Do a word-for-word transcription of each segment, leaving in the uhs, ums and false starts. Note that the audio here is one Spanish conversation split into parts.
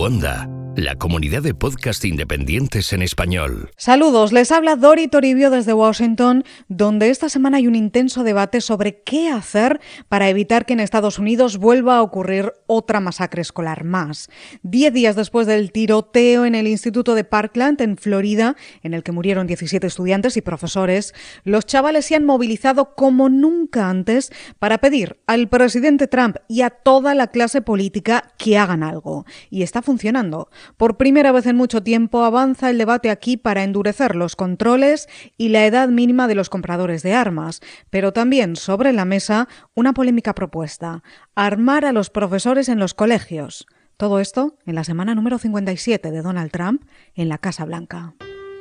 Onda, la comunidad de podcast independientes en español. Saludos, les habla Dori Toribio desde Washington, donde esta semana hay un intenso debate sobre qué hacer para evitar que en Estados Unidos vuelva a ocurrir otra masacre escolar más. Diez días después del tiroteo en el Instituto de Parkland, en Florida, en el que murieron diecisiete estudiantes y profesores, los chavales se han movilizado como nunca antes para pedir al presidente Trump y a toda la clase política que hagan algo. Y está funcionando. Por primera vez en mucho tiempo avanza el debate aquí para endurecer los controles y la edad mínima de los compradores de armas, pero también sobre la mesa una polémica propuesta: armar a los profesores en los colegios. Todo esto en la semana número cincuenta y siete de Donald Trump en la Casa Blanca.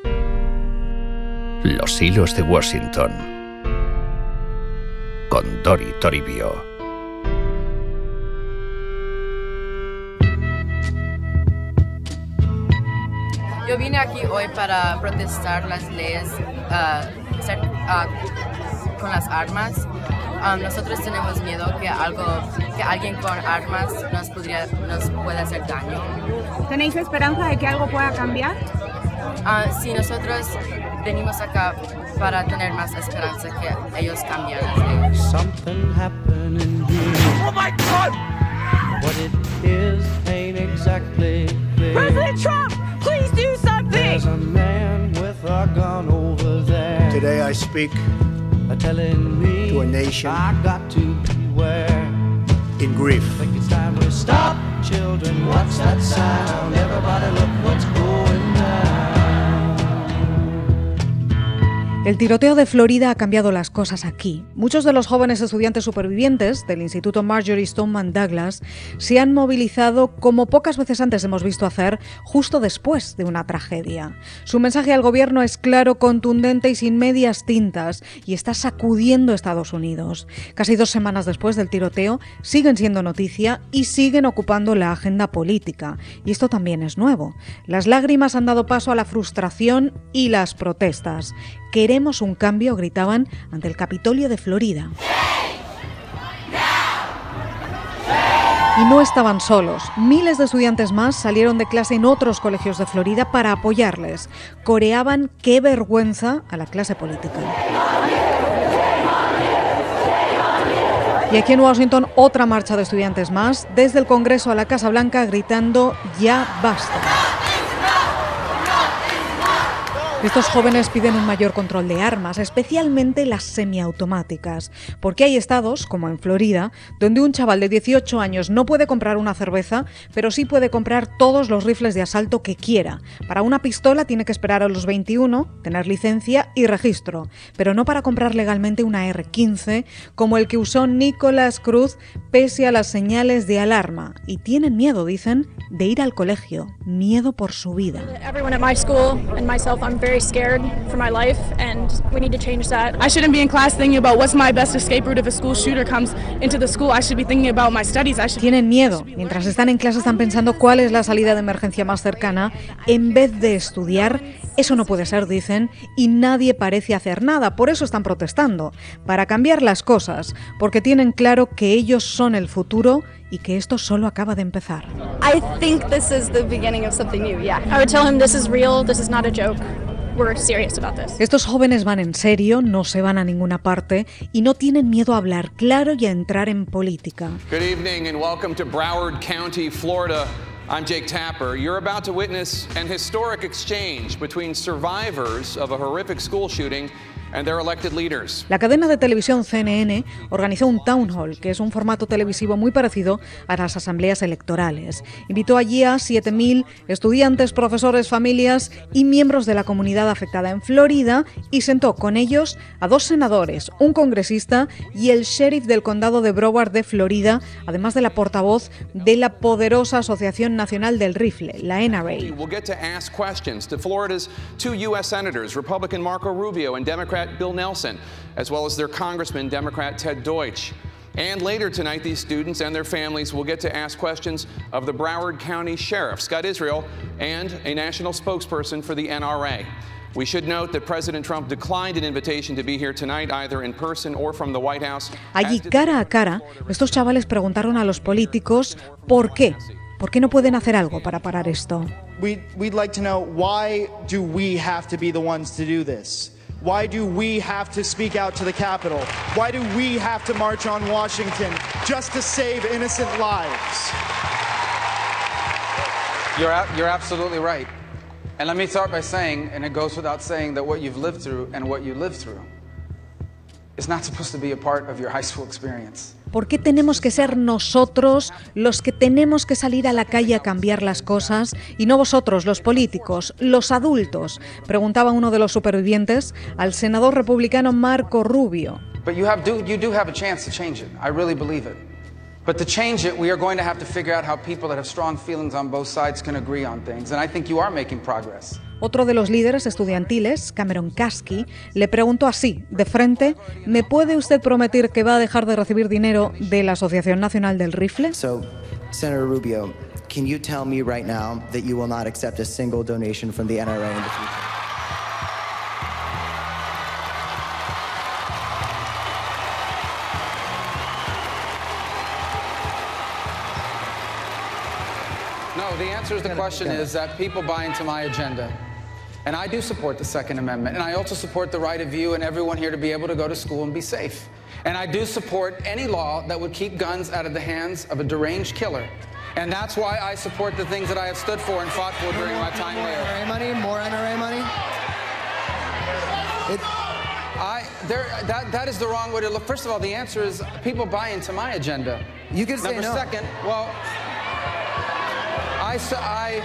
Los hilos de Washington con Dori Toribio. Yo vine aquí hoy para protestar las leyes uh, ser, uh, con las armas. Um, nosotros tenemos miedo que algo, que alguien con armas nos podría, nos pueda hacer daño. ¿Tenéis esperanza de que algo pueda cambiar? Uh, sí, nosotros venimos acá para tener más esperanza que ellos cambien las leyes. Something happening here. Oh my God! What it is ain't exactly clear. President Trump, please do something! There's a man with a gun over there. Today I speak telling me to a nation I got to beware. In grief. I think it's time we stop, children. What's that sound? Everybody look what's going down. El tiroteo de Florida ha cambiado las cosas aquí. Muchos de los jóvenes estudiantes supervivientes del Instituto Marjory Stoneman Douglas se han movilizado como pocas veces antes hemos visto hacer justo después de una tragedia. Su mensaje al gobierno es claro, contundente y sin medias tintas, y está sacudiendo Estados Unidos. Casi dos semanas después del tiroteo siguen siendo noticia y siguen ocupando la agenda política. Y esto también es nuevo. Las lágrimas han dado paso a la frustración y las protestas. Queremos un cambio, gritaban ante el Capitolio de Florida. Y no estaban solos. Miles de estudiantes más salieron de clase en otros colegios de Florida para apoyarles. Coreaban "qué vergüenza" a la clase política. Y aquí en Washington, otra marcha de estudiantes más, desde el Congreso a la Casa Blanca, gritando "ya basta". Estos jóvenes piden un mayor control de armas, especialmente las semiautomáticas, porque hay estados, como en Florida, donde un chaval de dieciocho años no puede comprar una cerveza, pero sí puede comprar todos los rifles de asalto que quiera. Para una pistola tiene que esperar a los veintiuno, tener licencia y registro, pero no para comprar legalmente una erre quince, como el que usó Nicholas Cruz, pese a las señales de alarma. Y tienen miedo, dicen, de ir al colegio, miedo por su vida. Everyone at my school and myself, I'm very scared for my life, and we need to change that. I shouldn't be in class thinking about what's my best escape route if a school shooter comes into the school. I should be thinking about my studies. I should... Tienen miedo. Mientras están en clase están pensando cuál es la salida de emergencia más cercana en vez de estudiar. Eso no puede ser, dicen, y nadie parece hacer nada. Por eso están protestando, para cambiar las cosas, porque tienen claro que ellos son el futuro y que esto solo acaba de empezar. I think this is the beginning of something new, yeah. I would tell him this is real, this is not a joke. We're serious about this. Estos jóvenes van en serio, no se van a ninguna parte y no tienen miedo a hablar claro y a entrar en política. Good evening and welcome to Broward County, Florida. I'm Jake Tapper. You're about to witness an historic exchange between survivors of a horrific school shooting and their elected leaders. La cadena de televisión C N N organizó un town hall, que es un formato televisivo muy parecido a las asambleas electorales. Invitó allí a siete mil estudiantes, profesores, familias y miembros de la comunidad afectada en Florida y sentó con ellos a dos senadores, un congresista y el sheriff del condado de Broward de Florida, además de la portavoz de la poderosa Asociación Nacional del Rifle, la N R A. We'll get to ask questions to Florida's two U S senators, Republican Marco Rubio and Democrat Bill Nelson, as well as their Congressman, Democrat Ted Deutsch. And later tonight, these students and their families will get to ask questions of the Broward County Sheriff, Scott Israel, and a national spokesperson for the N R A. We should note that President Trump declined an invitation to be here tonight, either in person or from the White House. Allí, cara a cara, estos chavales preguntaron a los políticos por qué. ¿Por qué no pueden hacer algo para parar esto? We'd, we'd like to know, why do we have to be the ones to do this? Why do we have to speak out to the Capitol? Why do we have to march on Washington just to save innocent lives? You're, you're absolutely right. And let me start by saying, and it goes without saying, that what you've lived through and what you lived through is not supposed to be a part of your high school experience. ¿Por qué tenemos que ser nosotros los que tenemos que salir a la calle a cambiar las cosas y no vosotros, los políticos, los adultos? Preguntaba uno de los supervivientes al senador republicano Marco Rubio. But you have do, you do have a chance to change it. I really believe it. But to change it, we are going to have to figure out how people that have strong feelings on both sides can agree on things. And I think you are making progress. Otro de los líderes estudiantiles, Cameron Kasky, le preguntó así, de frente, ¿me puede usted prometer que va a dejar de recibir dinero de la Asociación Nacional del Rifle? So, Senator Rubio, can you tell me right now that you will not accept a single donation from the N R A in the future? No, the answer to the question is that people buy into my agenda. And I do support the Second Amendment. And I also support the right of you and everyone here to be able to go to school and be safe. And I do support any law that would keep guns out of the hands of a deranged killer. And that's why I support the things that I have stood for and fought for during my time more there. N R A money? More N R A money? It, I, there, that, that is the wrong way to look. First of all, the answer is people buy into my agenda. You can say Number no. second, well, I, I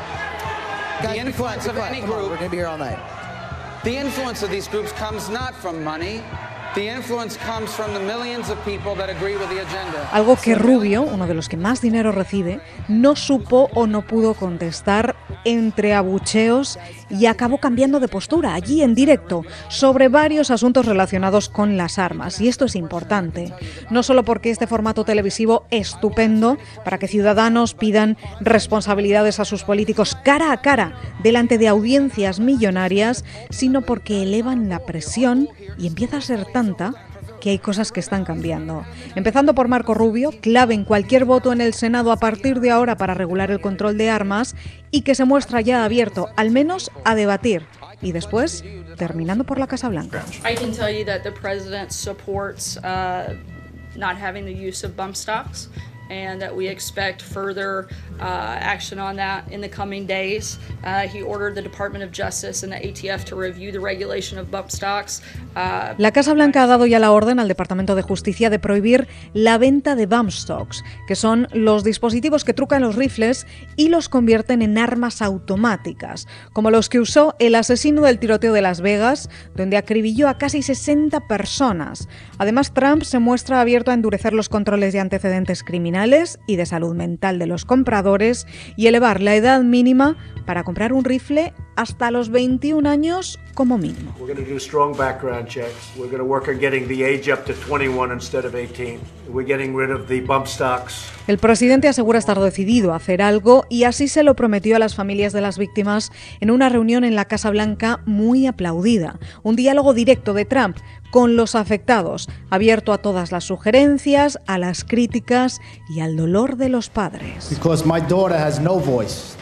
Guys, the influence of any Come on, group, we're going to be here all night. The influence of these groups comes not from money. The influence comes from the millions of people that agree with the agenda. Algo que Rubio, uno de los que más dinero recibe, no supo o no pudo contestar entre abucheos y acabó cambiando de postura allí en directo sobre varios asuntos relacionados con las armas. Y esto es importante, no solo porque este formato televisivo es estupendo para que ciudadanos pidan responsabilidades a sus políticos cara a cara delante de audiencias millonarias, sino porque elevan la presión y empieza a ser tanta que hay cosas que están cambiando. Empezando por Marco Rubio, clave en cualquier voto en el Senado a partir de ahora para regular el control de armas y que se muestra ya abierto, al menos a debatir. Y después, terminando por la Casa Blanca. I can tell you that the president supports uh, not having the use of bump stocks, and that we expect further uh, action on that in the coming days. Uh, he ordered the Department of Justice and the A T F to review the regulation of bump stocks. Uh, la Casa Blanca ha dado ya la orden al Departamento de Justicia de prohibir la venta de bump stocks, que son los dispositivos que trucan los rifles y los convierten en armas automáticas, como los que usó el asesino del tiroteo de Las Vegas, donde acribilló a casi sesenta personas. Además, Trump se muestra abierto a endurecer los controles de antecedentes criminales y de salud mental de los compradores y elevar la edad mínima para comprar un rifle hasta los veintiún años como mínimo. We're going to do strong background checks. We're going to work on getting the age up to twenty-one instead of eighteen. We're getting rid of the bump stocks. El presidente asegura estar decidido a hacer algo y así se lo prometió a las familias de las víctimas en una reunión en la Casa Blanca muy aplaudida. Un diálogo directo de Trump con los afectados, abierto a todas las sugerencias, a las críticas y al dolor de los padres. Because my daughter has no voice.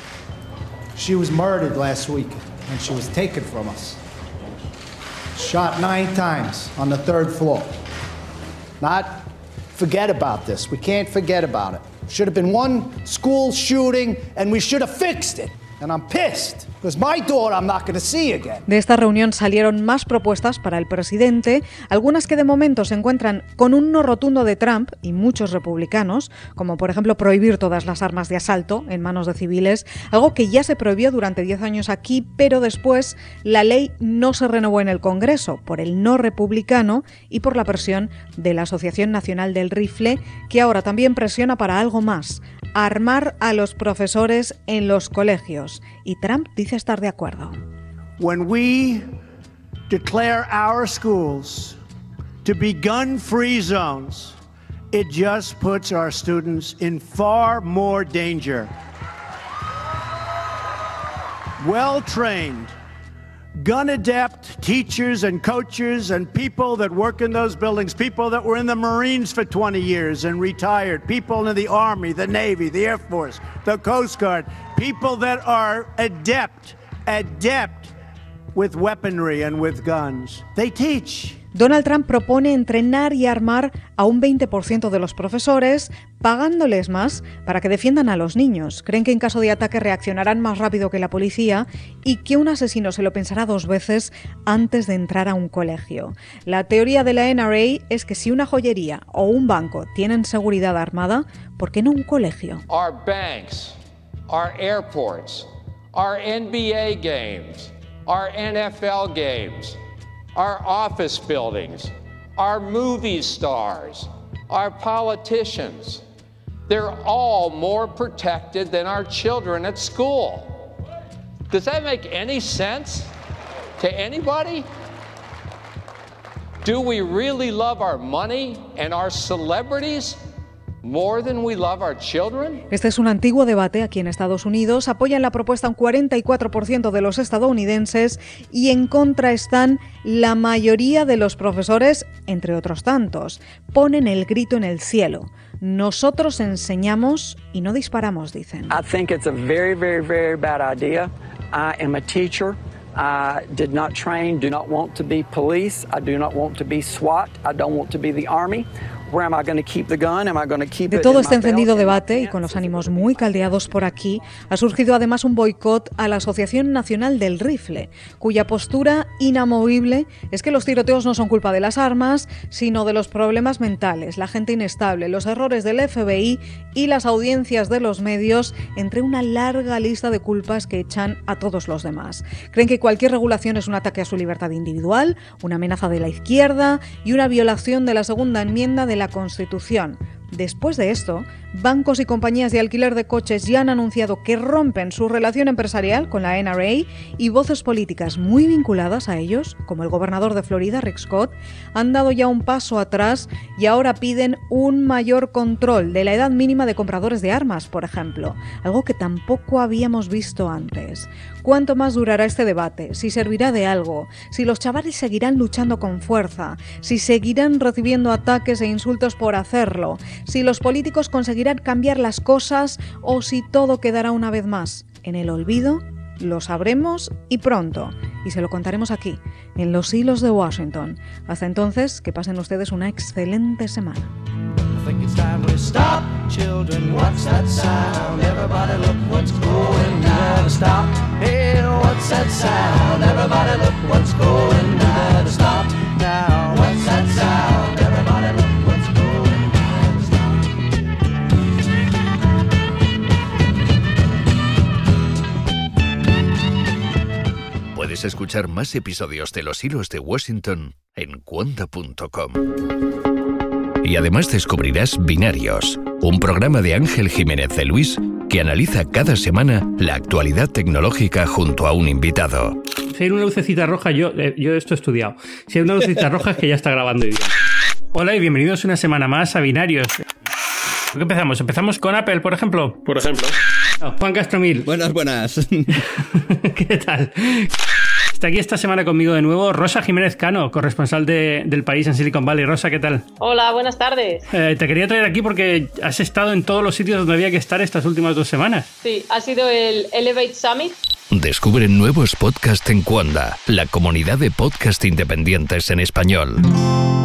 She was murdered last week and she was taken from us. Shot nine times on the third floor. Not forget about this. We can't forget about it. Should have been one school shooting and we should have fixed it. And I'm pissed. Because my daughter I'm not going to see again. De esta reunión salieron más propuestas para el presidente, algunas que de momento se encuentran con un no rotundo de Trump y muchos republicanos, como por ejemplo prohibir todas las armas de asalto en manos de civiles, algo que ya se prohibió durante diez años aquí, pero después la ley no se renovó en el Congreso por el no republicano y por la presión de la Asociación Nacional del Rifle, que ahora también presiona para algo más: armar a los profesores en los colegios. Y Trump dice estar de acuerdo. When we declare our schools to be gun-free zones, it just puts our students in far more danger. Well-trained, gun-adept teachers and coaches and people that work in those buildings, people that were in the Marines for twenty years and retired, people in the Army, the Navy, the Air Force, the Coast Guard, people that are adept, adept with weaponry and with guns. They teach. Donald Trump propone entrenar y armar a un veinte por ciento de los profesores, pagándoles más para que defiendan a los niños. Creen que en caso de ataque reaccionarán más rápido que la policía y que un asesino se lo pensará dos veces antes de entrar a un colegio. La teoría de la N R A es que si una joyería o un banco tienen seguridad armada, ¿por qué no un colegio? Our banks, our airports, our N B A games, our N F L games, our office buildings, our movie stars, our politicians, they're all more protected than our children at school. Does that make any sense to anybody? Do we really love our money and our celebrities more than we love our children? Este es un antiguo debate aquí en Estados Unidos. Apoyan la propuesta un cuarenta y cuatro por ciento de los estadounidenses y en contra están la mayoría de los profesores, entre otros tantos. Ponen el grito en el cielo. Nosotros enseñamos y no disparamos, dicen. I think it's a very, very, very bad idea. I am a teacher. I did not train, do not want to be police. I do not want to be SWAT. I don't want to be the Army. Where am I going to keep the gun? Am I going to keep De it todo in este my belt? encendido debate y con los ánimos muy caldeados por aquí, ha surgido además un boicot a la Asociación Nacional del Rifle, cuya postura inamovible es que los tiroteos no son culpa de las armas, sino de los problemas mentales, la gente inestable, los errores del F B I y las audiencias de los medios, entre una larga lista de culpas que echan a todos los demás. Creen que cualquier regulación es un ataque a su libertad individual, una amenaza de la izquierda y una violación de la segunda enmienda de la Constitución. Después de esto, bancos y compañías de alquiler de coches ya han anunciado que rompen su relación empresarial con la N R A y voces políticas muy vinculadas a ellos, como el gobernador de Florida, Rick Scott, han dado ya un paso atrás y ahora piden un mayor control de la edad mínima de compradores de armas, por ejemplo, algo que tampoco habíamos visto antes. ¿Cuánto más durará este debate? ¿Si servirá de algo? ¿Si los chavales seguirán luchando con fuerza? ¿Si seguirán recibiendo ataques e insultos por hacerlo? ¿Si los políticos conseguirán cambiar las cosas o si todo quedará una vez más en el olvido? Lo sabremos y pronto, y se lo contaremos aquí, en Los Hilos de Washington. Hasta entonces, que pasen ustedes una excelente semana. I think it's time we stop, children. What's that sound? Everybody look what's going down. Stop. Hey, what's that sound? Everybody look what's going down. Stop now. What's that sound? Everybody look what's going down. Puedes escuchar más episodios de Los Hilos de Washington en cuonda punto com. Y además descubrirás Binarios, un programa de Ángel Jiménez de Luis que analiza cada semana la actualidad tecnológica junto a un invitado. Si hay una lucecita roja, yo, eh, yo esto he estudiado. Si hay una lucecita roja es que ya está grabando bien. Hola y bienvenidos una semana más a Binarios. ¿Qué empezamos? ¿Empezamos con Apple, por ejemplo? Por ejemplo. Oh, Juan Castromil. Buenas, buenas. ¿Qué tal? Está aquí esta semana conmigo de nuevo Rosa Jiménez Cano, corresponsal de, del país en Silicon Valley. Rosa, ¿qué tal? Hola, buenas tardes. Eh, te quería traer aquí porque has estado en todos los sitios donde había que estar estas últimas dos semanas. Sí, ha sido el Elevate Summit. Descubre nuevos podcasts en Cuonda, la comunidad de podcast independientes en español.